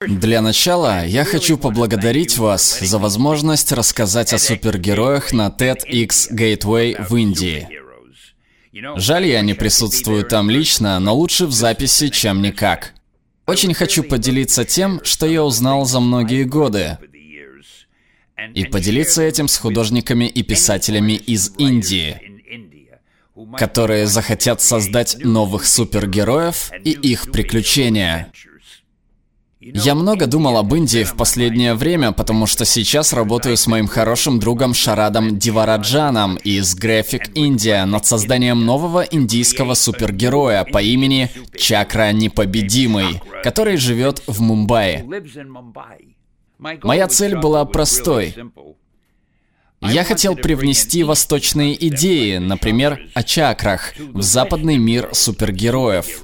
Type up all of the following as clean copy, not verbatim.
Для начала я хочу поблагодарить вас за возможность рассказать о супергероях на TEDx Gateway в Индии. Жаль, я не присутствую там лично, но лучше в записи, чем никак. Очень хочу поделиться тем, что я узнал за многие годы, и поделиться этим с художниками и писателями из Индии, которые захотят создать новых супергероев и их приключения. Я много думал об Индии в последнее время, потому что сейчас работаю с моим хорошим другом Шарадом Дивараджаном из Graphic India над созданием нового индийского супергероя по имени Чакра Непобедимый, который живет в Мумбаи. Моя цель была простой. Я хотел привнести восточные идеи, например, о чакрах, в западный мир супергероев.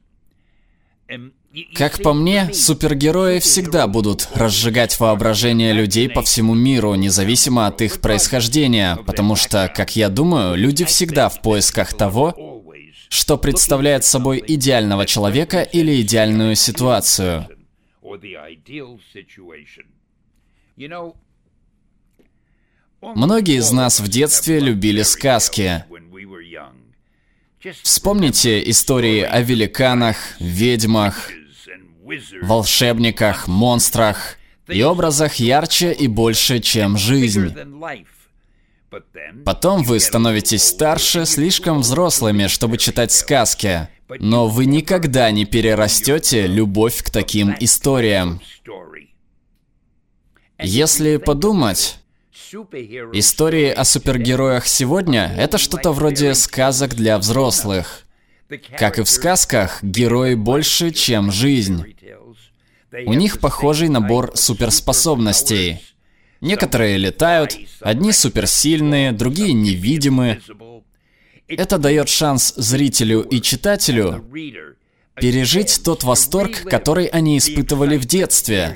Как по мне, супергерои всегда будут разжигать воображение людей по всему миру, независимо от их происхождения, потому что, как я думаю, люди всегда в поисках того, что представляет собой идеального человека или идеальную ситуацию. Многие из нас в детстве любили сказки. Вспомните истории о великанах, ведьмах, волшебниках, монстрах и образах ярче и больше, чем жизнь. Потом вы становитесь старше, слишком взрослыми, чтобы читать сказки, но вы никогда не перерастете любовь к таким историям. Если подумать, истории о супергероях сегодня — это что-то вроде сказок для взрослых. Как и в сказках, герои больше, чем жизнь. У них похожий набор суперспособностей. Некоторые летают, одни суперсильные, другие невидимы. Это дает шанс зрителю и читателю пережить тот восторг, который они испытывали в детстве.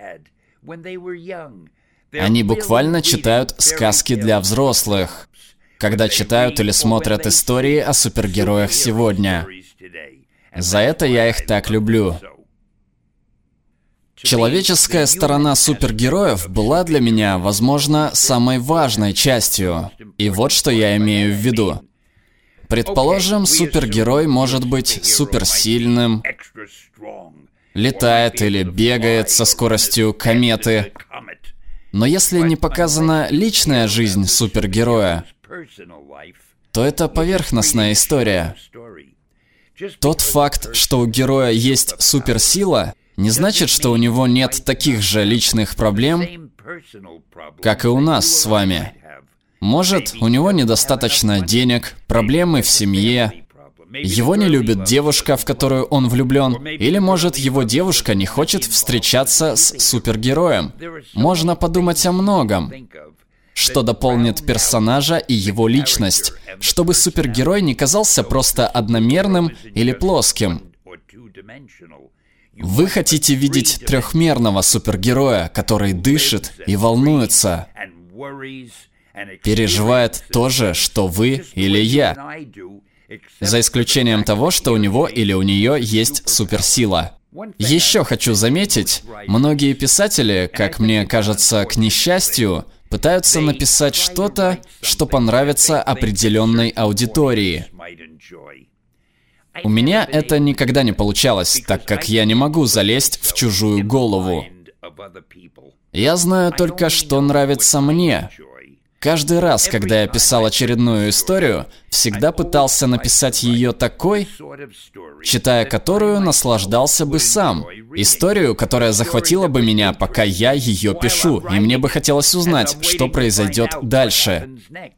Они буквально читают сказки для взрослых, когда читают или смотрят истории о супергероях сегодня. За это я их так люблю. Человеческая сторона супергероев была для меня, возможно, самой важной частью. И вот что я имею в виду. Предположим, супергерой может быть суперсильным, летает или бегает со скоростью кометы. Но если не показана личная жизнь супергероя, то это поверхностная история. Тот факт, что у героя есть суперсила, не значит, что у него нет таких же личных проблем, как и у нас с вами. Может, у него недостаточно денег, проблемы в семье, его не любит девушка, в которую он влюблен, или, может, его девушка не хочет встречаться с супергероем. Можно подумать о многом, что дополнит персонажа и его личность, чтобы супергерой не казался просто одномерным или плоским. Вы хотите видеть трехмерного супергероя, который дышит и волнуется, переживает то же, что вы или я. За исключением того, что у него или у нее есть суперсила. Еще хочу заметить, многие писатели, как мне кажется, к несчастью, пытаются написать что-то, что понравится определенной аудитории. У меня это никогда не получалось, так как я не могу залезть в чужую голову. Я знаю только, что нравится мне. Каждый раз, когда я писал очередную историю, всегда пытался написать ее такой, читая которую наслаждался бы сам. Историю, которая захватила бы меня, пока я ее пишу, и мне бы хотелось узнать, что произойдет дальше.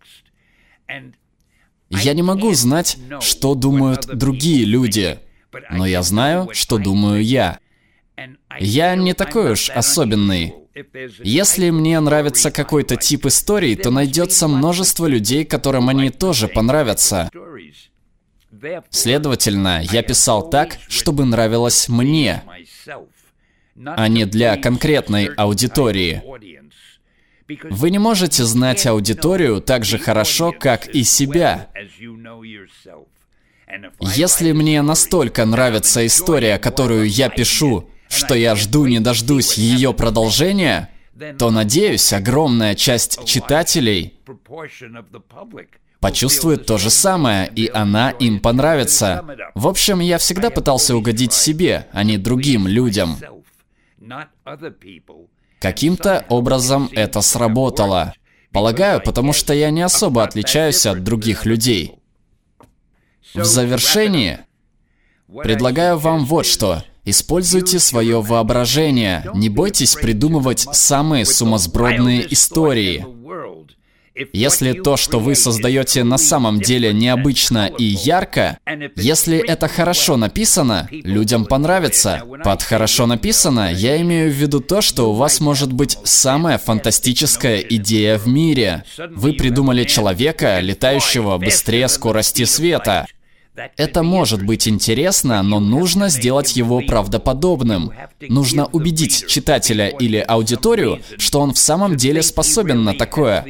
Я не могу знать, что думают другие люди, но я знаю, что думаю я. Я не такой уж особенный. Если мне нравится какой-то тип историй, то найдется множество людей, которым они тоже понравятся. Следовательно, я писал так, чтобы нравилось мне, а не для конкретной аудитории. Вы не можете знать аудиторию так же хорошо, как и себя. Если мне настолько нравится история, которую я пишу, что я жду не дождусь ее продолжения, то, надеюсь, огромная часть читателей почувствует то же самое, и она им понравится. В общем, я всегда пытался угодить себе, а не другим людям. Каким-то образом это сработало. Полагаю, потому что я не особо отличаюсь от других людей. В завершении предлагаю вам вот что. Используйте свое воображение. Не бойтесь придумывать самые сумасбродные истории. Если то, что вы создаете, на самом деле необычно и ярко, если это хорошо написано, людям понравится. Под «хорошо написано» я имею в виду то, что у вас может быть самая фантастическая идея в мире. Вы придумали человека, летающего быстрее скорости света. Это может быть интересно, но нужно сделать его правдоподобным. Нужно убедить читателя или аудиторию, что он в самом деле способен на такое.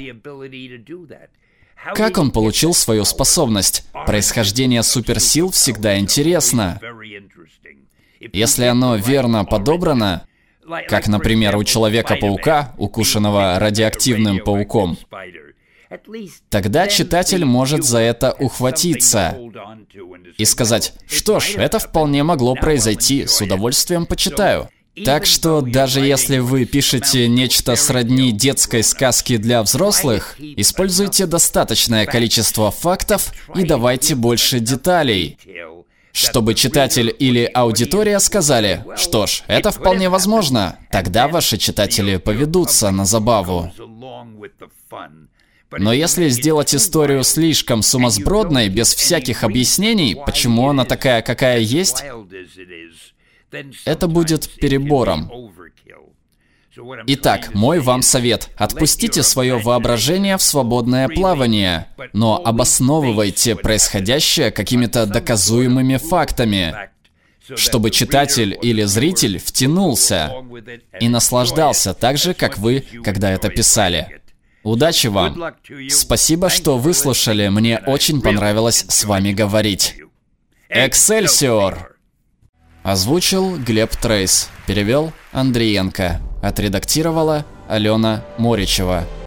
Как он получил свою способность? Происхождение суперсил всегда интересно. Если оно верно подобрано, как, например, у Человека-паука, укушенного радиоактивным пауком, тогда читатель может за это ухватиться и сказать: что ж, это вполне могло произойти, с удовольствием почитаю. Так что даже если вы пишете нечто сродни детской сказке для взрослых, используйте достаточное количество фактов и давайте больше деталей, чтобы читатель или аудитория сказали: что ж, это вполне возможно. Тогда ваши читатели поведутся на забаву. Но если сделать историю слишком сумасбродной, без всяких объяснений, почему она такая, какая есть, это будет перебором. Итак, мой вам совет. Отпустите свое воображение в свободное плавание, но обосновывайте происходящее какими-то доказуемыми фактами, чтобы читатель или зритель втянулся и наслаждался так же, как вы, когда это писали. Удачи вам! Спасибо, что выслушали. Мне очень понравилось с вами говорить. Эксельсиор! Озвучил Глеб Трейс. Перевел Андриенко. Отредактировала Алена Моричева.